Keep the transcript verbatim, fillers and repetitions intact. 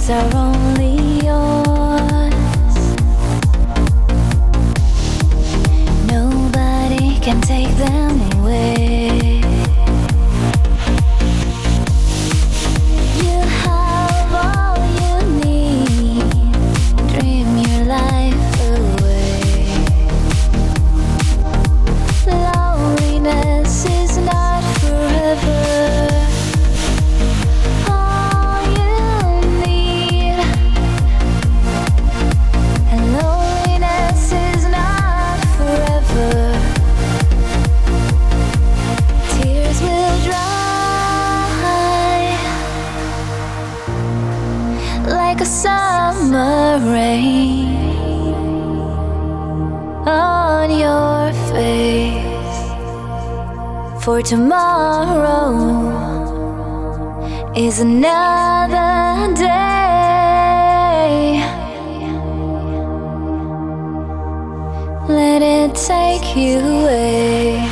days are only yours. Nobody can take them away. You have all you need. Dream your life away. Loneliness is not forever. All you need. And loneliness is not forever. Tears will dry like a summer rain on your face. For tomorrow is another day. Let it take you away.